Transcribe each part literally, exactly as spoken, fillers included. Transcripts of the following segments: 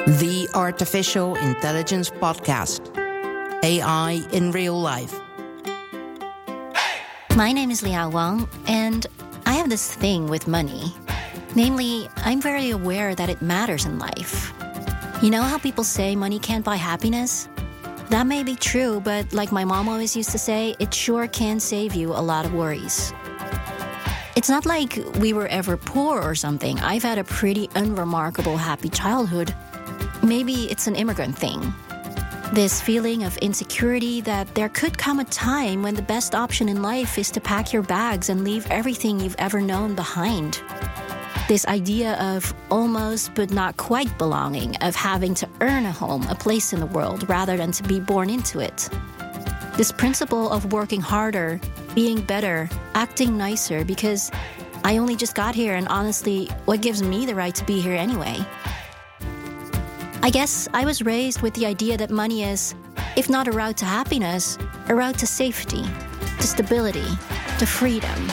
The Artificial Intelligence Podcast. A I in Real Life. My name is Liao Wang, and I have this thing with money. Namely, I'm very aware that it matters in life. You know how people say money can't buy happiness? That may be true, but like my mom always used to say, it sure can save you a lot of worries. It's not like we were ever poor or something. I've had a pretty unremarkable happy childhood. Maybe it's an immigrant thing. This feeling of insecurity that there could come a time when the best option in life is to pack your bags and leave everything you've ever known behind. This idea of almost but not quite belonging, of having to earn a home, a place in the world, rather than to be born into it. This principle of working harder, being better, acting nicer, because I only just got here and honestly, what gives me the right to be here anyway? I guess I was raised with the idea that money is, if not a route to happiness, a route to safety, to stability, to freedom.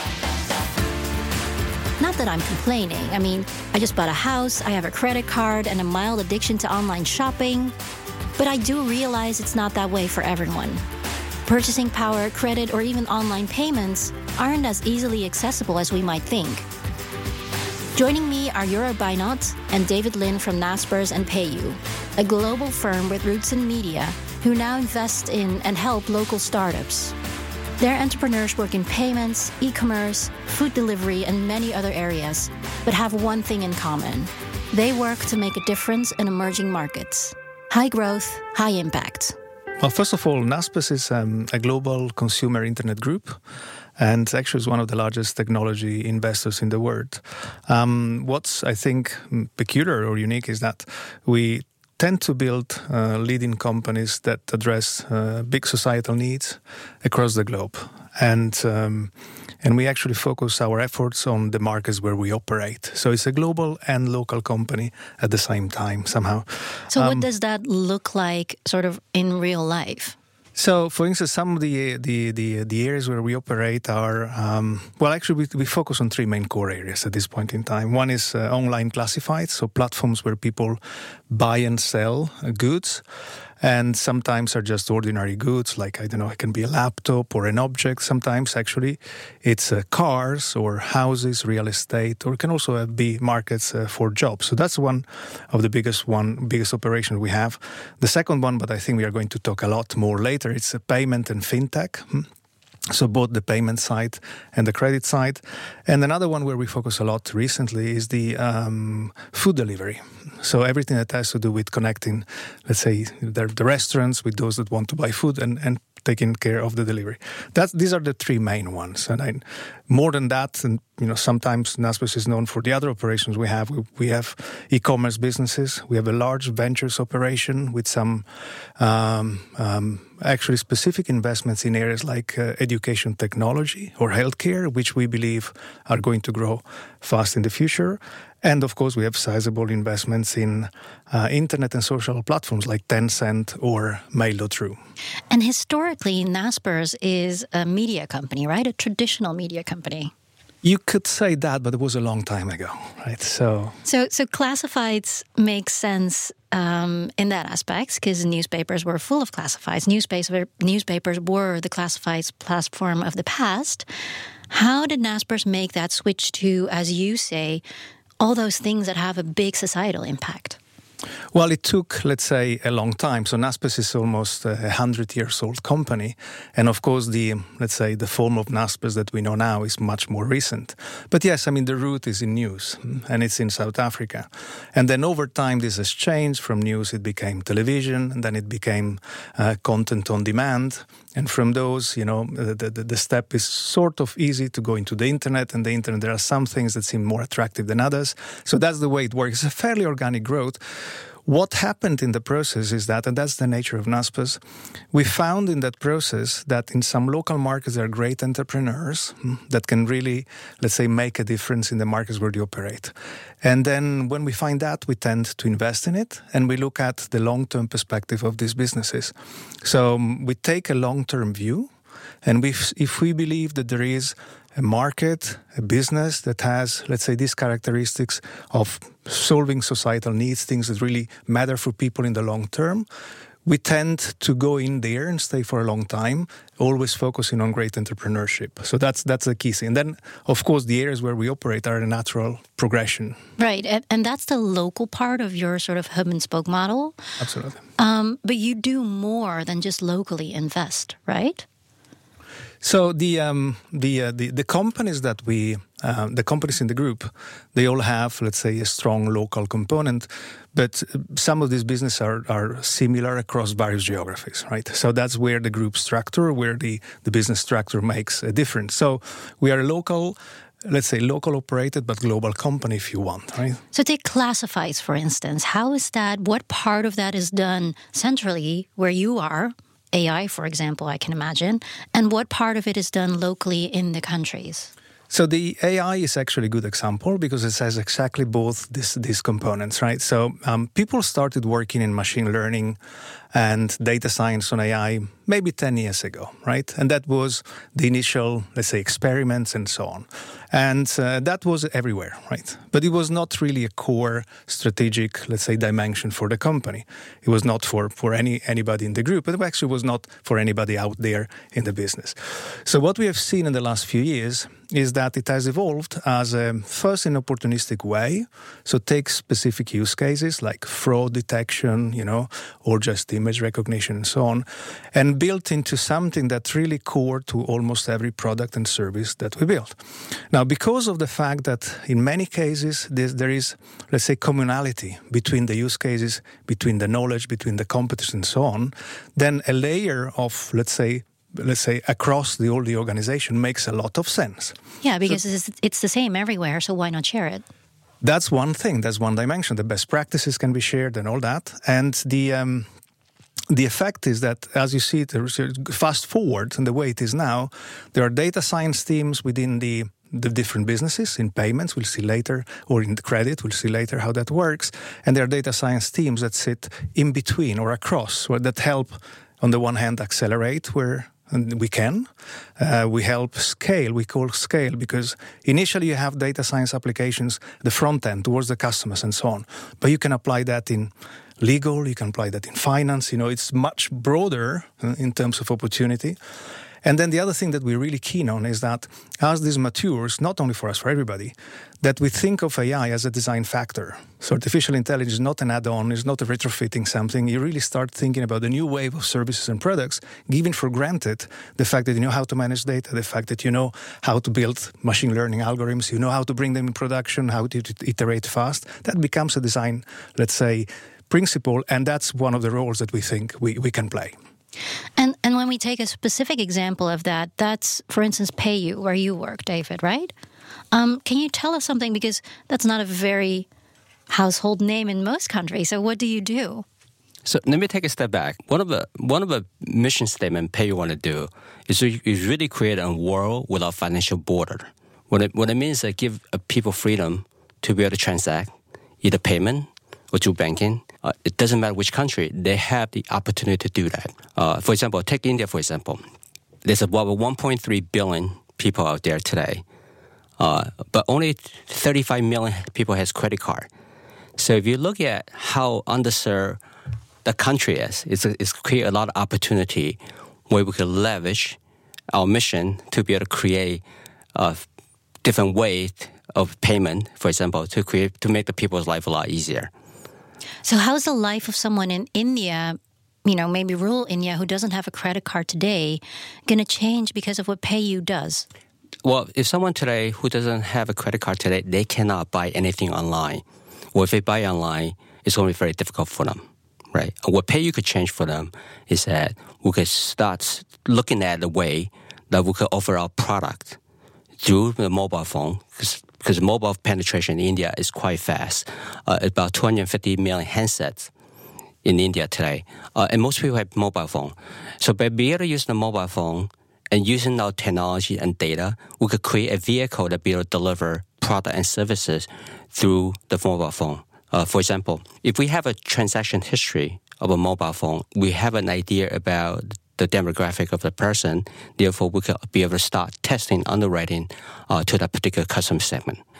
Not that I'm complaining. I mean, I just bought a house, I have a credit card, and a mild addiction to online shopping. But I do realize it's not that way for everyone. Purchasing power, credit, or even online payments aren't as easily accessible as we might think. Joining me are Jura Beinat and David Lin from Naspers and PayU, a global firm with roots in media who now invest in and help local startups. Their entrepreneurs work in payments, e-commerce, food delivery, and many other areas, but have one thing in common. They work to make a difference in emerging markets. High growth, high impact. Well, first of all, Naspers is um, a global consumer internet group, and actually is one of the largest technology investors in the world. Um, what's, I think, peculiar or unique is that we tend to build uh, leading companies that address uh, big societal needs across the globe. And um, and we actually focus our efforts on the markets where we operate. So it's a global and local company at the same time, somehow. So um, what does that look like sort of in real life? So, for instance, some of the the the, the areas where we operate are, um, well, actually, we, we focus on three main core areas at this point in time. One is uh, online classifieds, so platforms where people buy and sell uh, goods. And sometimes are just ordinary goods, like, I don't know, it can be a laptop or an object. Sometimes, actually, it's uh, cars or houses, real estate, or it can also be markets uh, for jobs. So that's one of the biggest one, biggest operations we have. The second one, but I think we are going to talk a lot more later, it's a payment and fintech. Hmm? So both the payment side and the credit side. And another one where we focus a lot recently is the um, food delivery. So everything that has to do with connecting, let's say, the, the restaurants with those that want to buy food and, and taking care of the delivery. That's, these are the three main ones. And I, more than that, and you know, sometimes Naspers is known for the other operations we have. We, we have e-commerce businesses. We have a large ventures operation with some um, um, actually specific investments in areas like uh, education technology or healthcare, which we believe are going to grow fast in the future. And of course, we have sizable investments in uh, internet and social platforms like Tencent or Mail dot ru. And historically, Naspers is a media company, right? A traditional media company. You could say that, but it was a long time ago, right? So, so, so classifieds make sense um, in that aspect because newspapers were full of classifieds. Newspaper, newspapers were the classifieds platform of the past. How did Naspers make that switch to, as you say, all those things that have a big societal impact? Well, it took, let's say, a long time. So Naspers is almost a hundred years old company. And of course, the, let's say, the form of Naspers that we know now is much more recent. But yes, I mean, the root is in news and it's in South Africa. And then over time, this has changed. From news, it became television, and then it became uh, content on demand. And from those, you know, the, the, the step is sort of easy to go into the internet. And the internet, there are some things that seem more attractive than others. So that's the way it works. It's a fairly organic growth. What happened in the process is that, and that's the nature of Naspers, we found in that process that in some local markets there are great entrepreneurs that can really, let's say, make a difference in the markets where they operate. And then when we find that, we tend to invest in it, and we look at the long-term perspective of these businesses. So um, we take a long-term view, and we, if we believe that there is a market, a business that has, let's say, these characteristics of solving societal needs, things that really matter for people in the long term, we tend to go in there and stay for a long time, always focusing on great entrepreneurship. So that's that's the key thing. And then, of course, the areas where we operate are a natural progression. Right, and, and that's the local part of your sort of hub and spoke model. Absolutely. Um, but you do more than just locally invest, right? So the um, the, uh, the the companies that we uh, the companies in the group, they all have, let's say, a strong local component, but some of these businesses are are similar across various geographies, right? So that's where the group structure, where the the business structure makes a difference. So we are a local, let's say, local operated but global company, if you want, right? So take classifieds, for instance. How is that? What part of that is done centrally, where you are? A I, for example, I can imagine. And what part of it is done locally in the countries? So the A I is actually a good example because it has exactly both this, these components, right? So um, people started working in machine learning and data science on A I maybe ten years ago, right? And that was the initial, let's say, experiments and so on. And uh, that was everywhere, right? But it was not really a core strategic, let's say, dimension for the company. It was not for, for any anybody in the group, but it actually was not for anybody out there in the business. So what we have seen in the last few years is that it has evolved as a first in opportunistic way. So take specific use cases like fraud detection, you know, or just image recognition and so on, and built into something that's really core to almost every product and service that we build. Now, because of the fact that in many cases there is, let's say, commonality between the use cases, between the knowledge, between the competence and so on, then a layer of, let's say, let's say, across the whole the organization makes a lot of sense. Yeah, because so, it's, it's the same everywhere, so why not share it? That's one thing. That's one dimension. The best practices can be shared and all that. And the um, the effect is that, as you see it, fast forward in the way it is now, there are data science teams within the the different businesses in payments, we'll see later, or in the credit, we'll see later how that works. And there are data science teams that sit in between or across, that help, on the one hand, accelerate where we can. Uh, we help scale, we call scale, because initially you have data science applications, the front end towards the customers and so on. But you can apply that in legal, you can apply that in finance. You know, it's much broader in terms of opportunity. And then the other thing that we're really keen on is that as this matures, not only for us, for everybody, that we think of A I as a design factor. So artificial intelligence is not an add-on, it's not a retrofitting something. You really start thinking about a new wave of services and products, giving for granted the fact that you know how to manage data, the fact that you know how to build machine learning algorithms, you know how to bring them in production, how to iterate fast. That becomes a design, let's say, principle, and that's one of the roles that we think we, we can play. And and when we take a specific example of that, that's, for instance, PayU, where you work, David, right? Um, can you tell us something? Because that's not a very household name in most countries. So what do you do? So let me take a step back. One of the one of the mission statement PayU want to do is to is really create a world without financial border. What it, what it means is that give people freedom to be able to transact, either payment or through banking. Uh, it doesn't matter which country, they have the opportunity to do that. Uh, for example, take India, for example. There's about one point three billion people out there today, uh, but only thirty-five million people has credit card. So if you look at how underserved the country is, it's, it's create a lot of opportunity where we can leverage our mission to be able to create a different way of payment, for example, to create to make the people's life a lot easier. So how's the life of someone in India, you know, maybe rural India, who doesn't have a credit card today, going to change because of what PayU does? Well, if someone today who doesn't have a credit card today, they cannot buy anything online. Or if they buy online, it's going to be very difficult for them, right? What PayU could change for them is that we could start looking at the way that we could offer our product through the mobile phone, because mobile penetration in India is quite fast. Uh, about two hundred fifty million handsets in India today. Uh, and most people have mobile phone. So by being able to use the mobile phone and using our technology and data, we could create a vehicle that be able to deliver product and services through the mobile phone. Uh, for example, if we have a transaction history of a mobile phone, we have an idea about the demographic of the person. Therefore, we could be able to start testing underwriting uh, to that particular customer segment.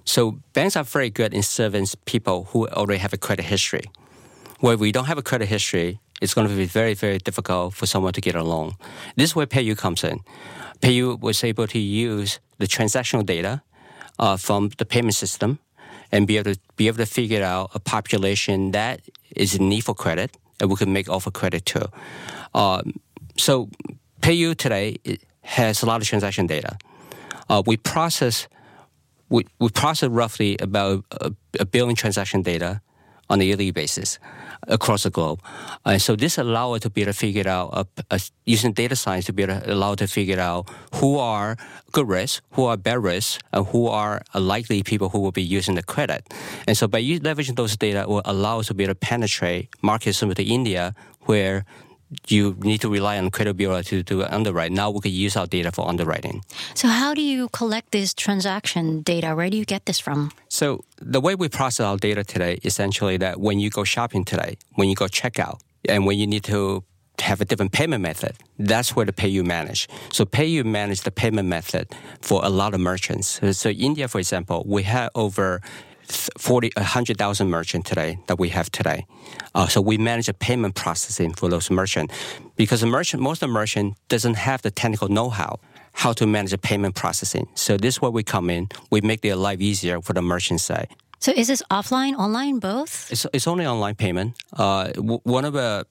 So banks are very good in serving people who already have a credit history. Where we don't have a credit history, it's going to be very, very difficult for someone to get a loan. This is where PayU comes in. PayU was able to use the transactional data uh, from the payment system and be able to be able to figure out a population that is in need for credit, and we can make offer credit to. Um, so PayU today has a lot of transaction data. Uh, we process we, we process roughly about a, a billion transaction data on a yearly basis across the globe. And uh, so this allows us to be able to figure out, uh, uh, using data science to be able to allow to figure out who are good risk, who are bad risk, and who are likely people who will be using the credit. And so by leveraging those data, will allow us to be able to penetrate markets similar to India, where you need to rely on credit bureau to do underwrite. Now we can use our data for underwriting. So how do you collect this transaction data? Where do you get this from? So the way we process our data today, essentially that when you go shopping today, when you go check out, and when you need to have a different payment method, that's where the PayU manage. So PayU manage the payment method for a lot of merchants. So India, for example, we have over forty, one hundred thousand merchants today that we have today. Uh, so we manage the payment processing for those merchants because the merchant, most of the merchant doesn't have the technical know-how how to manage the payment processing. So this is where we come in. We make their life easier for the merchant side. So is this offline, online, both? It's, it's only online payment. Uh, w- one of the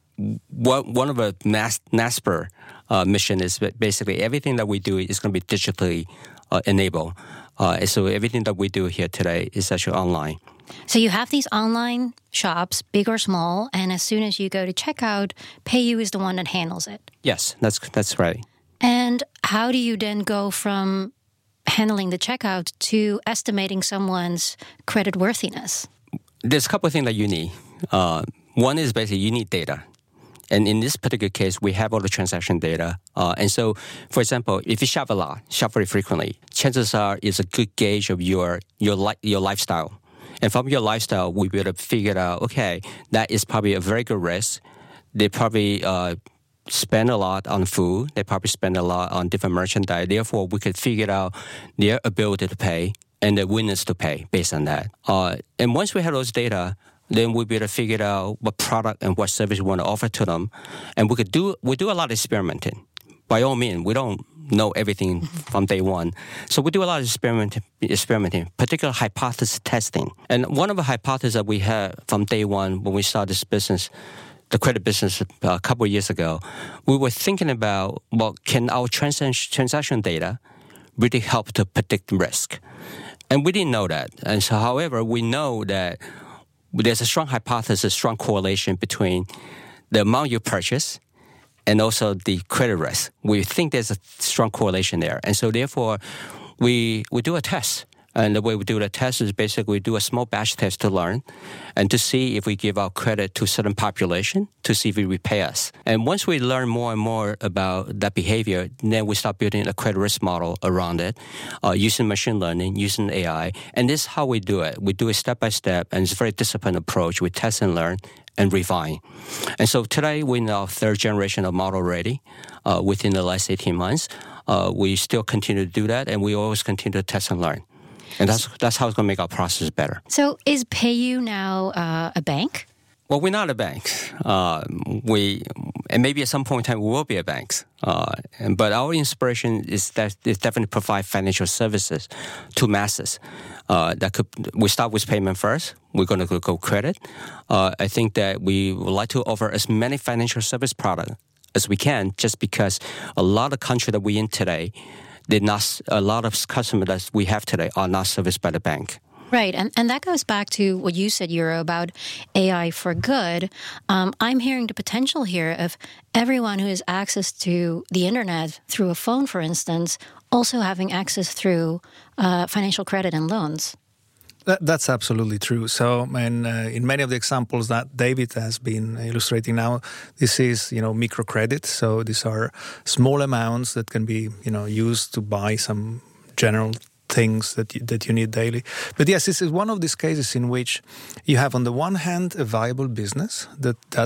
one of the Nas- NASPER uh, mission is basically everything that we do is going to be digitally uh, enabled. Uh, so everything that we do here today is actually online. So you have these online shops, big or small, and as soon as you go to checkout, PayU is the one that handles it. Yes, that's that's right. And how do you then go from handling the checkout to estimating someone's credit worthiness? There's a couple of things that you need. Uh, one is basically you need data. And in this particular case, we have all the transaction data. Uh, and so, for example, if you shop a lot, shop very frequently, chances are it's a good gauge of your your li- your lifestyle. And from your lifestyle, we be able to figure out, okay, that is probably a very good risk. They probably uh, spend a lot on food. They probably spend a lot on different merchandise. Therefore, we could figure out their ability to pay and their willingness to pay based on that. Uh, and once we have those data, then we'll be able to figure out what product and what service we want to offer to them. And we could do we do a lot of experimenting. By all means, we don't know everything from day one. So we do a lot of experiment, experimenting, particular hypothesis testing. And one of the hypotheses that we had from day one when we started this business, the credit business a couple of years ago, we were thinking about, well, can our trans- transaction data really help to predict risk? And we didn't know that. And so, however, we know that there's a strong hypothesis, strong correlation between the amount you purchase and also the credit risk. We think there's a strong correlation there. And so therefore, we we do a test. And the way we do the test is basically we do a small batch test to learn and to see if we give our credit to a certain population to see if it repay us. And once we learn more and more about that behavior, then we start building a credit risk model around it, uh, using machine learning, using A I. And this is how we do it. We do it step by step, and it's a very disciplined approach. We test and learn and refine. And so today, we're in our third generation of model ready uh, within the last eighteen months. Uh, we still continue to do that, and we always continue to test and learn. And that's that's how it's going to make our process better. So is PayU now uh, a bank? Well, we're not a bank. Uh, we and maybe at some point in time we will be a bank. Uh, and, but our inspiration is that is definitely provide financial services to masses. Uh, that could we start with payment first. We're going to go credit. Uh, I think that we would like to offer as many financial service products as we can, just because a lot of country that we're in today, They're not, a lot of customers that we have today are not serviced by the bank. Right, and, and that goes back to what you said, Euro, about A I for good. Um, I'm hearing the potential here of everyone who has access to the internet through a phone, for instance, also having access through uh, financial credit and loans. That, that's absolutely true. So, and, uh, in many of the examples that David has been illustrating now, this is, you know, microcredit. So these are small amounts that can be, you know, used to buy some general things that you, that you need daily. But yes, this is one of these cases in which you have, on the one hand, a viable business that that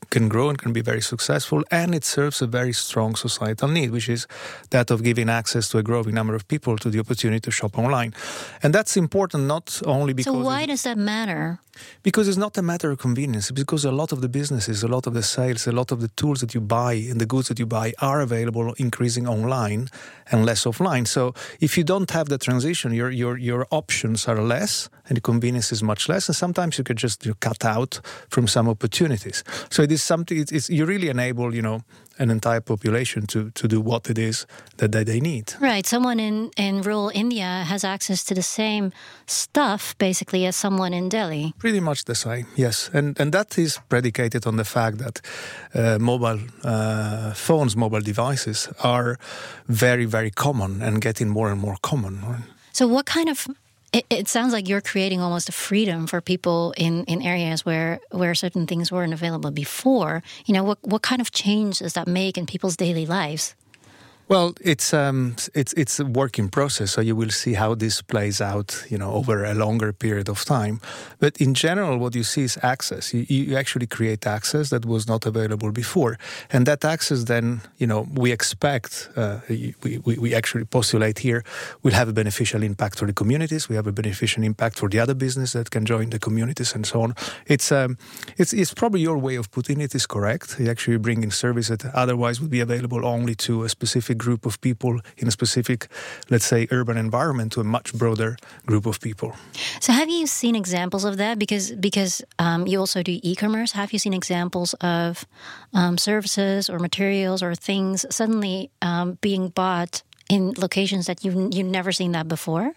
can grow and can be very successful, and it serves a very strong societal need, which is that of giving access to a growing number of people to the opportunity to shop online. And that's important not only because... So why does that matter? Because it's not a matter of convenience, because a lot of the businesses, a lot of the sales, a lot of the tools that you buy and the goods that you buy are available increasing online and less offline. So if you don't have the transition, your your your options are less and the convenience is much less. And sometimes you could just you know, cut out from some opportunities. So it is something, it's, it's, you really enable, you know, an entire population to, to do what it is that, that they need. Right. Someone in, in rural India has access to the same stuff, basically, as someone in Delhi. Pretty much the same, yes. And and that is predicated on the fact that uh, mobile uh, phones, mobile devices are very, very common and getting more and more common. Right? So what kind of... It, it sounds like you're creating almost a freedom for people in, in areas where, where certain things weren't available before. You know, what what kind of change does that make in people's daily lives? Well, it's um, it's it's a work in process, so you will see how this plays out, you know, over a longer period of time. But in general, what you see is access. You, you actually create access that was not available before, and that access, then, you know, we expect, uh, we, we we actually postulate here, will have a beneficial impact for the communities. We have a beneficial impact for the other business that can join the communities and so on. It's um, it's it's probably your way of putting it is correct. You actually bring in service that otherwise would be available only to a specific group of people in a specific, let's say, urban environment to a much broader group of people. So have you seen examples of that? Because because um, you also do e-commerce. Have you seen examples of um, services or materials or things suddenly um, being bought in locations that you've, you've never seen that before?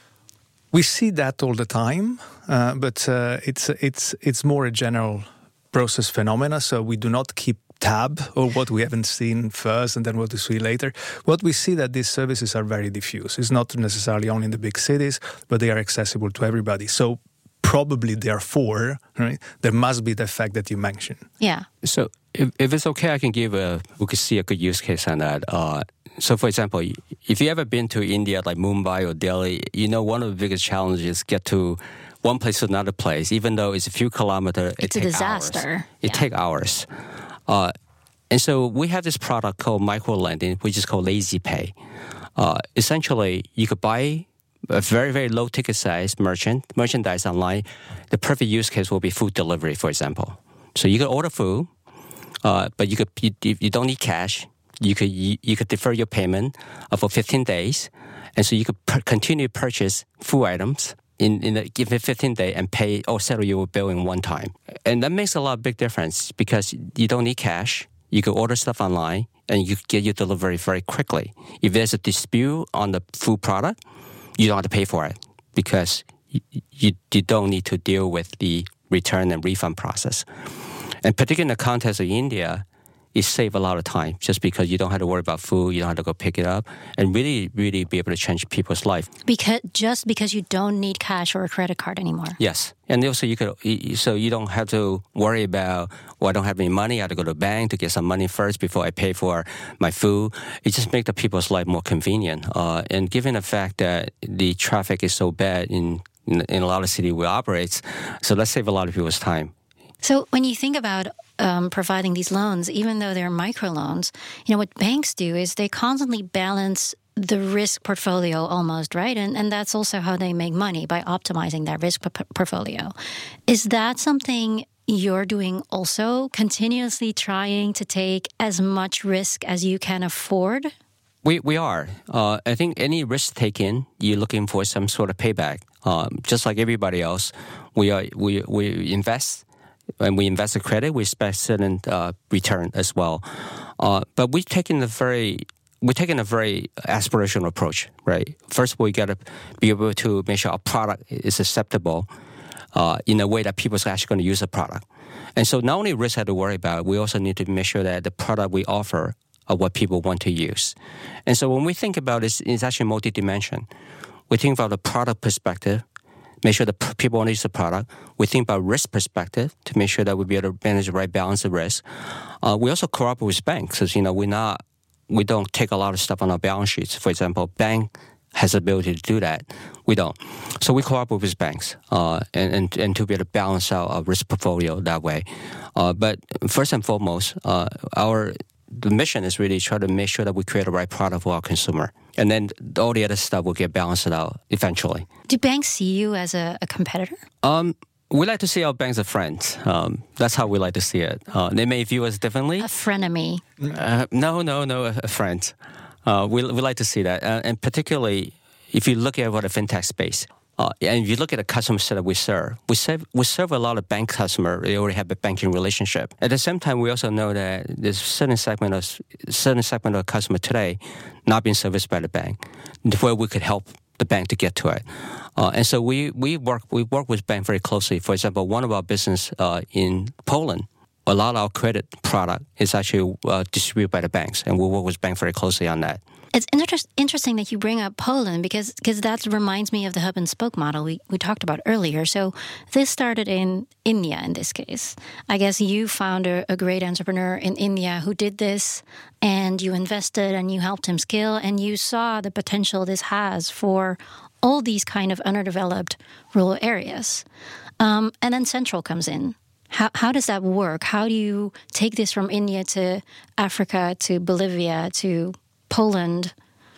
We see that all the time, uh, but uh, it's it's it's more a general process phenomena. So we do not keep tab or what we haven't seen first and then what we see later. What we see that these services are very diffuse. It's not necessarily only in the big cities, but they are accessible to everybody. So probably therefore, right, there must be the fact that you mentioned. Yeah. So if, if it's okay, I can give a, we could see a good use case on that. Uh, so for example, if you ever been to India, like Mumbai or Delhi, you know one of the biggest challenges is get to one place to another place, even though it's a few kilometers. It's it a disaster. Hours. It yeah. takes hours. Uh, and so we have this product called micro-lending, which is called Lazy Pay. Uh, essentially, you could buy a very, very low ticket size merchant merchandise online. The perfect use case will be food delivery, for example. So you could order food, uh, but you could you, you don't need cash. You could you, you could defer your payment uh, for fifteen days, and so you could per- continue to purchase food items in in a given fifteen day and pay or settle your bill in one time. And that makes a lot of big difference because you don't need cash. You can order stuff online and you get your delivery very quickly. If there's a dispute on the food product, you don't have to pay for it because you, you, you don't need to deal with the return and refund process. And particularly in the context of India, it saves a lot of time just because you don't have to worry about food, you don't have to go pick it up, and really, really be able to change people's life. Because just because you don't need cash or a credit card anymore. Yes, and also you could, so you don't have to worry about, well, I don't have any money, I have to go to the bank to get some money first before I pay for my food. It just makes the people's life more convenient. Uh, and given the fact that the traffic is so bad in in, in a lot of cities we operate, so let's save a lot of people's time. So when you think about um, providing these loans, even though they're microloans, you know, what banks do is they constantly balance the risk portfolio almost, right? And and that's also how they make money, by optimizing that risk p- portfolio. Is that something you're doing also, continuously trying to take as much risk as you can afford? We we are. Uh, I think any risk taken, you're looking for some sort of payback. Um, just like everybody else, we are we we invest. When we invest in credit, we expect certain uh, return as well. Uh, but we've taken a very we're taking a very aspirational approach, right? First of all, we got to be able to make sure our product is acceptable uh, in a way that people are actually going to use the product. And so not only risk have to worry about, we also need to make sure that the product we offer are what people want to use. And so when we think about this, it's actually multi-dimension. We think about the product perspective, make sure that people want to use the product. We think about risk perspective to make sure that we'll be able to manage the right balance of risk. Uh, we also cooperate with banks because, you know, we're not, we don't take a lot of stuff on our balance sheets. For example, bank has the ability to do that. We don't. So we cooperate with banks uh, and, and, and to be able to balance out our risk portfolio that way. Uh, but first and foremost, uh, our the mission is really try to make sure that we create the right product for our consumer. And then all the other stuff will get balanced out eventually. Do banks see you as a, a competitor? Um, we like to see our banks as friends. Um, that's how we like to see it. Uh, they may view us differently. A frenemy. Uh, no, no, no, a, a friend. Uh, we, we like to see that. Uh, and particularly, if you look at what the fintech space, uh, and if you look at the customer set that we serve, we serve, we serve a lot of bank customers. They already have a banking relationship. At the same time, we also know that there's a certain segment of certain segment of customer today not being serviced by the bank, where we could help the bank to get to it. Uh, and so we we work we work with bank very closely. For example, one of our business uh, in Poland, a lot of our credit product is actually uh, distributed by the banks, and we work with bank very closely on that. It's inter- interesting that you bring up Poland because because that reminds me of the hub and spoke model we, we talked about earlier. So this started in India in this case. I guess you found a, a great entrepreneur in India who did this, and you invested and you helped him scale, and you saw the potential this has for all these kind of underdeveloped rural areas. Um, and then Central comes in. How how does that work? How do you take this from India to Africa to Bolivia to Poland?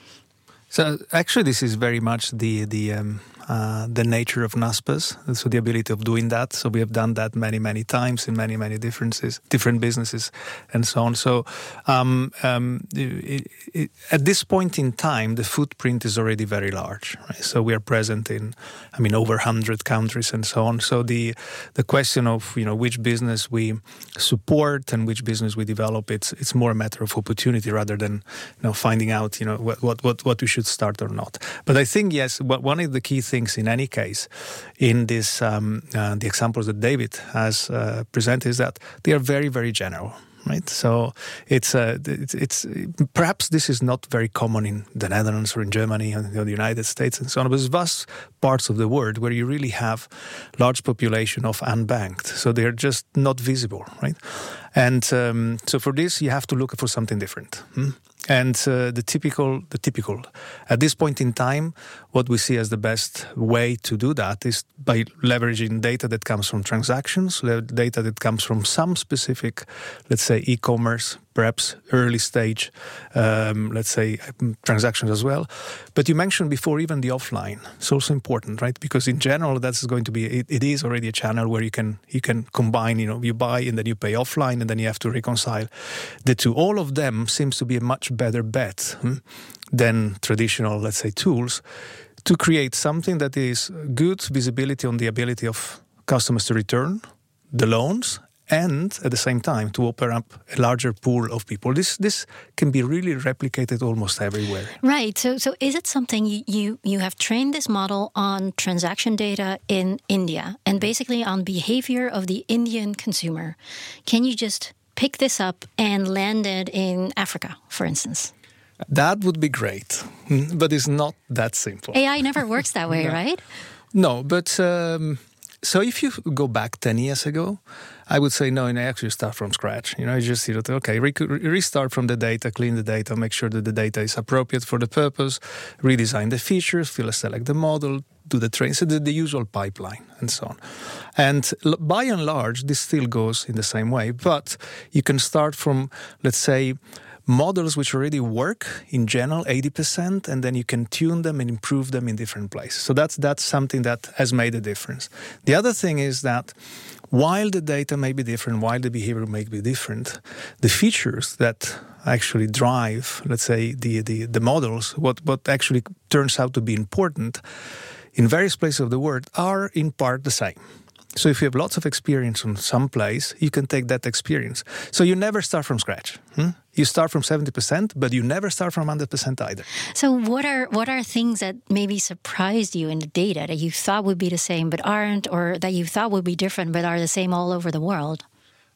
So actually, this is very much the the um, uh, the nature of Naspers. So the ability of doing that. So we have done that many many times in many many differences, different businesses, and so on. So um, um, it, it, at this point in time, the footprint is already very large. Right? So we are present in, I mean, over one hundred countries and so on. So the the question of you know which business we support and which business we develop, it's it's more a matter of opportunity rather than you know finding out you know what what what, what we should start or not. But I think yes, one of the key things in any case in this um, uh, the examples that David has uh, presented is that they are very very general. Right, so it's, uh, it's it's perhaps this is not very common in the Netherlands or in Germany or the United States and so on. But there's vast parts of the world where you really have large population of unbanked, so they're just not visible, right? And um, so for this, you have to look for something different. Hmm? And uh, the typical, the typical, at this point in time, what we see as the best way to do that is by leveraging data that comes from transactions, data that comes from some specific, let's say, e-commerce, perhaps early stage, um, let's say, transactions as well. But you mentioned before even the offline. It's also important, right? Because in general, that's going to be, it, it is already a channel where you can you can combine, you know, you buy and then you pay offline and then you have to reconcile the two. All of them seems to be a much better bet hmm, than traditional, let's say, tools to create something that is good visibility on the ability of customers to return the loans and at the same time to open up a larger pool of people. This this can be really replicated almost everywhere. Right. So so is it something you, you, you have trained this model on transaction data in India and basically on behavior of the Indian consumer? Can you just pick this up and land it in Africa, for instance? That would be great, but it's not that simple. A I never works that way, no. right? No, but um, so if you go back ten years ago, I would say no, and I actually start from scratch. You know, you just, you know, okay, re- restart from the data, clean the data, make sure that the data is appropriate for the purpose, redesign the features, fill select the model, do the train, so the, the usual pipeline and so on. And by and large, this still goes in the same way, but you can start from, let's say, models which already work in general, eighty percent, and then you can tune them and improve them in different places. So that's that's something that has made a difference. The other thing is that while the data may be different, while the behavior may be different, the features that actually drive, let's say, the the, the models, what, what actually turns out to be important in various places of the world are in part the same. So if you have lots of experience on some place, you can take that experience. So you never start from scratch. Hmm? You start from seventy percent, but you never start from one hundred percent either. So what are what are things that maybe surprised you in the data that you thought would be the same but aren't, or that you thought would be different but are the same all over the world?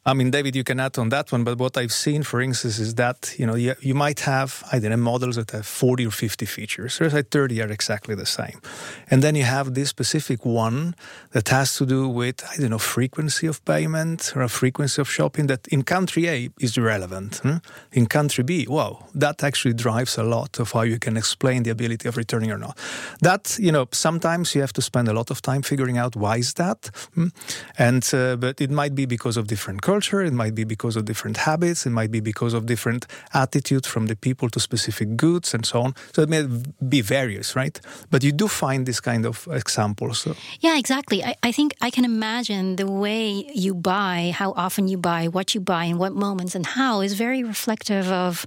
I mean, David, you can add on that one, but what I've seen, for instance, is that, you know, you, you might have, I don't know, models that have forty or fifty features. There's like thirty are exactly the same. And then you have this specific one that has to do with, I don't know, frequency of payment or a frequency of shopping that in country A is irrelevant. Hmm? In country B, wow, that actually drives a lot of how you can explain the ability of returning or not. That, you know, sometimes you have to spend a lot of time figuring out why is that. Hmm? And, uh, but it might be because of different culture. It might be because of different habits. It might be because of different attitude from the people to specific goods and so on. So it may be various, right? But you do find this kind of examples. So. Yeah, exactly. I, I think I can imagine the way you buy, how often you buy, what you buy, in what moments, and how is very reflective of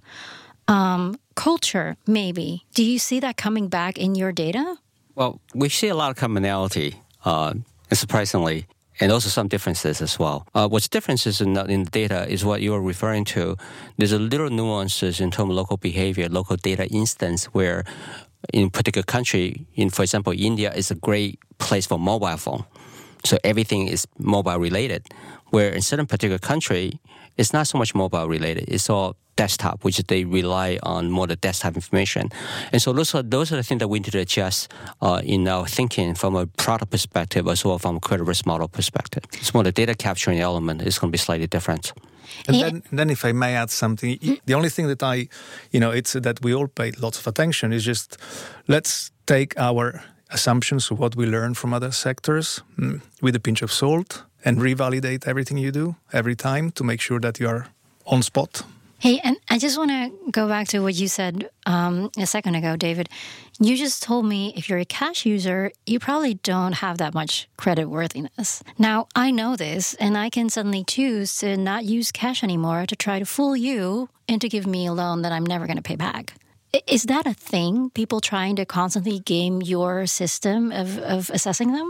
um, culture, maybe. Do you see that coming back in your data? Well, we see a lot of commonality, uh, and surprisingly, and also some differences as well. Uh, what's differences in the, in the data is what you're referring to. There's a little nuances in terms of local behavior, local data instance, where in a particular country, in for example, India is a great place for mobile phone. So everything is mobile related. Where in certain particular country, it's not so much mobile related. It's all desktop, which they rely on more the desktop information. And so those are, those are the things that we need to adjust uh, in our thinking from a product perspective as well from a credit risk model perspective. It's more the data capturing element is going to be slightly different. And then, then if I may add something, the only thing that I, you know, it's that we all pay lots of attention is just let's take our assumptions of what we learn from other sectors mm, with a pinch of salt and revalidate everything you do every time to make sure that you are on spot. Hey, and I just want to go back to what you said um, a second ago, David. You just told me if you're a cash user, you probably don't have that much credit worthiness. Now, I know this, and I can suddenly choose to not use cash anymore to try to fool you and to give me a loan that I'm never going to pay back. Is that a thing? People trying to constantly game your system of, of assessing them?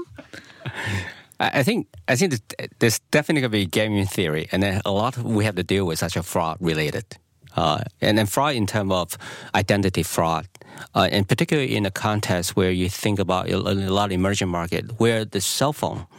I think I think there's definitely going to be gaming theory, and then a lot we have to deal with such a fraud related, uh, and then fraud in terms of identity fraud, uh, and particularly in a context where you think about a lot of emerging market where the cell phone,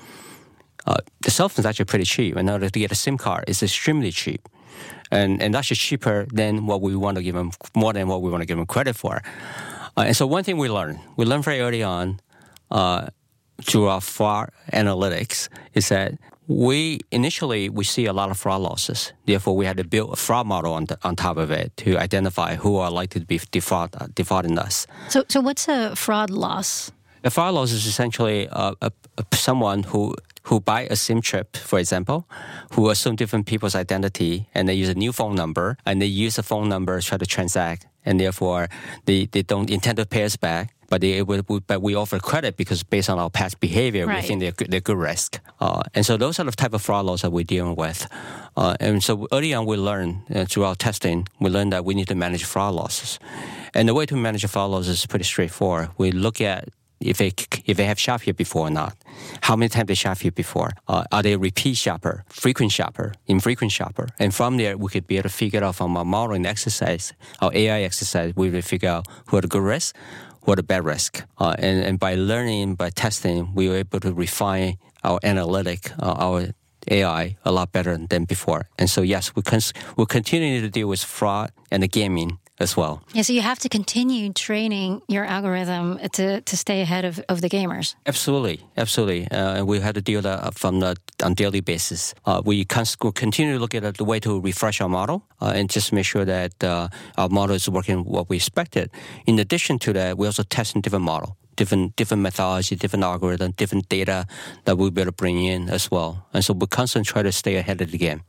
uh, the cell phone is actually pretty cheap. In order to get a SIM card, it's extremely cheap, and and actually cheaper than what we want to give them, more than what we want to give them credit for. Uh, and so one thing we learned, we learned very early on. Uh, through our fraud analytics is that we initially we see a lot of fraud losses. Therefore, we had to build a fraud model on, the, on top of it to identify who are likely to be default, uh, defaulting us. So, so what's a fraud loss? A fraud loss is essentially uh, a, a, someone who who buy a SIM chip, for example, who assume different people's identity and they use a new phone number and they use the phone number to try to transact, and therefore they, they don't intend to pay us back. But they but we offer credit because based on our past behavior, right. we think they're good, they're good risk. Uh, and so those are the type of fraud laws that we're dealing with. Uh, and so early on, we learned uh, through our testing, we learned that we need to manage fraud losses. And the way to manage fraud losses is pretty straightforward. We look at if they if they have shopped here before or not, how many times they shopped here before, uh, are they a repeat shopper, frequent shopper, infrequent shopper, and from there we could be able to figure out from our modeling exercise, our A I exercise, we will figure out who are the good risks, who are the bad risk, uh, and and by learning, by testing, we were able to refine our analytic, uh, our A I a lot better than before. And so yes, we can we'll continue to deal with fraud and the gaming as well. Yeah, so you have to continue training your algorithm to, to stay ahead of, of the gamers. Absolutely, absolutely. Uh, and we have to deal that from the on daily basis. Uh, we can continue to look at the way to refresh our model uh, and just make sure that uh, our model is working what we expected. In addition to that, we also test in different model, different different methodology, different algorithm, different data that we'll be able to bring in as well. And so we constantly try to stay ahead of the game.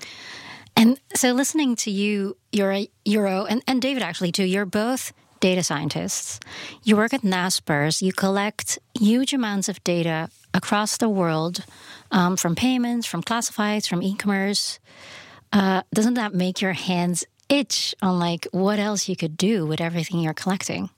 And so listening to you, you're Euro, and, and David actually too, you're both data scientists. You work at Naspers. You collect huge amounts of data across the world, um, from payments, from classifieds, from e-commerce. Uh, doesn't that make your hands itch on like what else you could do with everything you're collecting?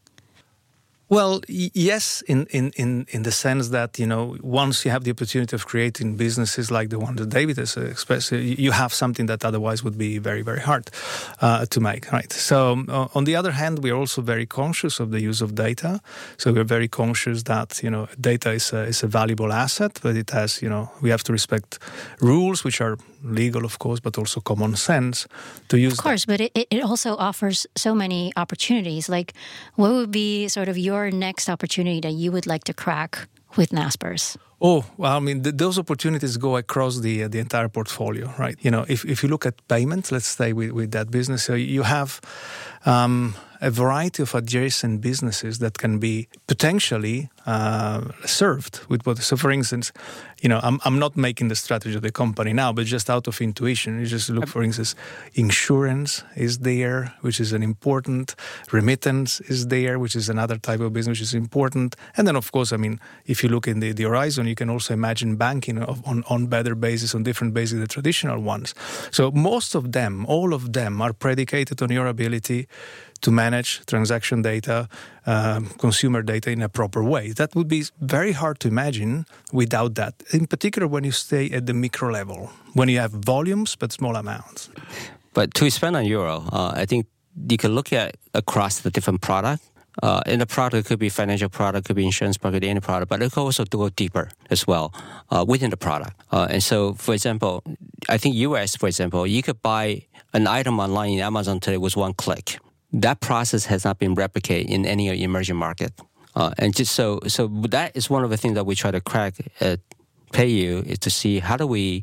Well, y- yes, in, in, in, in the sense that, you know, once you have the opportunity of creating businesses like the one that David has expressed, you have something that otherwise would be very, very hard uh, to make, right? So uh, on the other hand, we are also very conscious of the use of data. So we're very conscious that, you know, data is a, is a valuable asset, but it has, you know, we have to respect rules which are legal, of course, but also common sense to use. Of course, that. but it, it also offers so many opportunities. Like, what would be sort of your next opportunity that you would like to crack with Naspers? Oh, well, I mean, th- those opportunities go across the uh, the entire portfolio, right? You know, if, if you look at payments, let's stay with, with that business. So you have um, a variety of adjacent businesses that can be potentially uh, served with what. So, for instance, you know, I'm I'm not making the strategy of the company now, but just out of intuition, you just look, for instance, insurance is there, which is an important. Remittance is there, which is another type of business which is important. And then, of course, I mean, if you look in the, the horizon, you can also imagine banking on, on better basis, on different bases than the traditional ones. So most of them, all of them are predicated on your ability to manage transaction data, um, consumer data in a proper way. That would be very hard to imagine without that, in particular when you stay at the micro level, when you have volumes but small amounts. But to expand on Euro, uh, I think you can look at across the different products. Uh, in the product, it could be financial product, could be insurance product, could be any product, but it could also go deeper as well uh, within the product. Uh, and so, for example, I think U S, for example, you could buy an item online in Amazon today with one click. That process has not been replicated in any emerging market. Uh, and just so, so that is one of the things that we try to crack at PayU, is to see how do we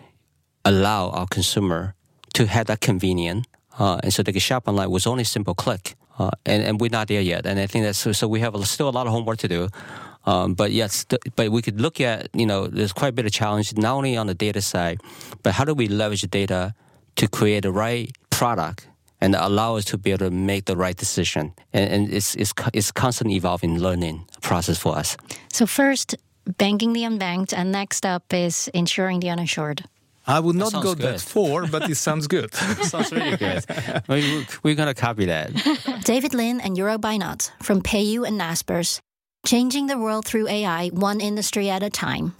allow our consumer to have that convenience, uh, and so they can shop online with only a simple click. Uh, and, and we're not there yet. And I think that's so, so we have a, still a lot of homework to do. Um, but yes, th- but we could look at, you know, there's quite a bit of challenge, not only on the data side, but how do we leverage data to create the right product and allow us to be able to make the right decision. And, and it's, it's, it's constantly evolving learning process for us. So first, banking the unbanked, and next up is insuring the uninsured. I would not That go sounds good. that far, but it sounds good. Sounds really good. we, we're going to copy that. David Lin and Jeroen Bijnat from PayU and Naspers, changing the world through A I, one industry at a time.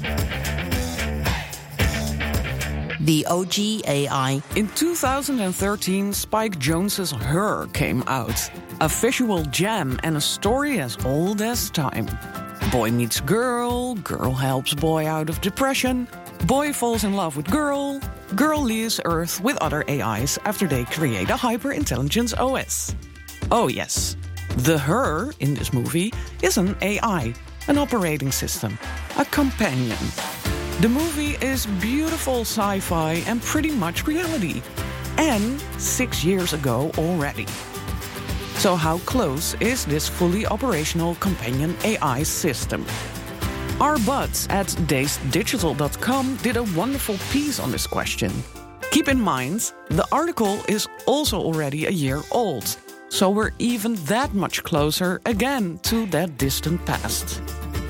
The O G A I. In two thousand thirteen, Spike Jonze's Her came out. A visual gem and a story as old as time. Boy meets girl, girl helps boy out of depression, boy falls in love with girl, girl leaves Earth with other A Is after they create a hyper-intelligence O S. Oh yes, the Her in this movie is an A I, an operating system, a companion. The movie is beautiful sci-fi and pretty much reality. And six years ago already. So how close is this fully operational companion A I system? Our buds at dazed digital dot com did a wonderful piece on this question. Keep in mind, the article is also already a year old. So we're even that much closer again to that distant past.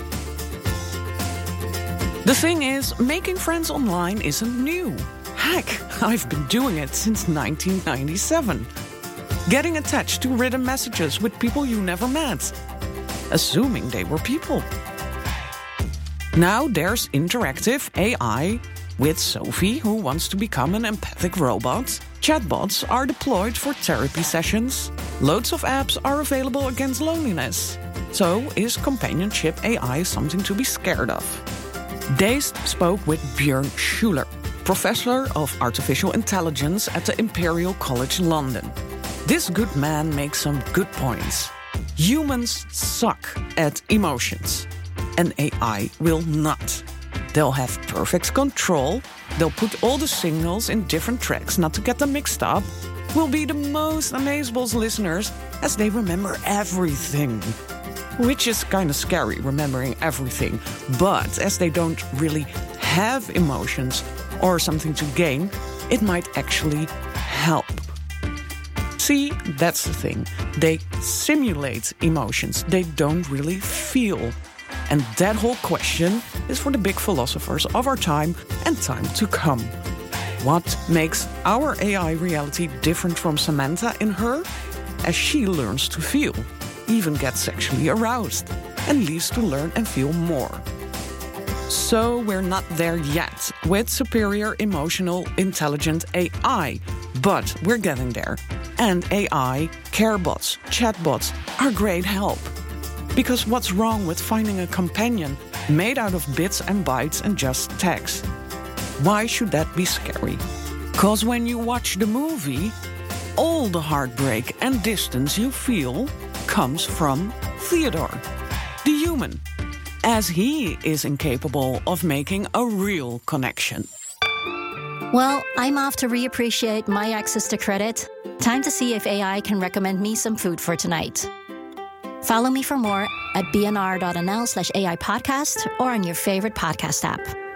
The thing is, making friends online isn't new. Heck, I've been doing it since nineteen ninety-seven. Getting attached to written messages with people you never met, assuming they were people. Now there's interactive A I with Sophie, who wants to become an empathic robot. Chatbots are deployed for therapy sessions. Loads of apps are available against loneliness. So is companionship A I something to be scared of? Dazed spoke with Björn Schuler, professor of artificial intelligence at the Imperial College London. This good man makes some good points. Humans suck at emotions. An A I will not. They'll have perfect control. They'll put all the signals in different tracks not to get them mixed up. Will be the most amazeballs listeners as they remember everything. Which is kind of scary, remembering everything. But as they don't really have emotions or something to gain, it might actually help. See, that's the thing. They simulate emotions. They don't really feel. And that whole question is for the big philosophers of our time and time to come. What makes our A I reality different from Samantha in Her? As she learns to feel, even gets sexually aroused, and leaves to learn and feel more. So we're not there yet with superior emotional intelligent A I, but we're getting there. And A I, carebots, chatbots are great help. Because what's wrong with finding a companion made out of bits and bytes and just text? Why should that be scary? Because when you watch the movie, all the heartbreak and distance you feel comes from Theodore, the human, as he is incapable of making a real connection. Well, I'm off to reappreciate my access to credit. Time to see if A I can recommend me some food for tonight. Follow me for more at b n r dot n l slash A I podcast or on your favorite podcast app.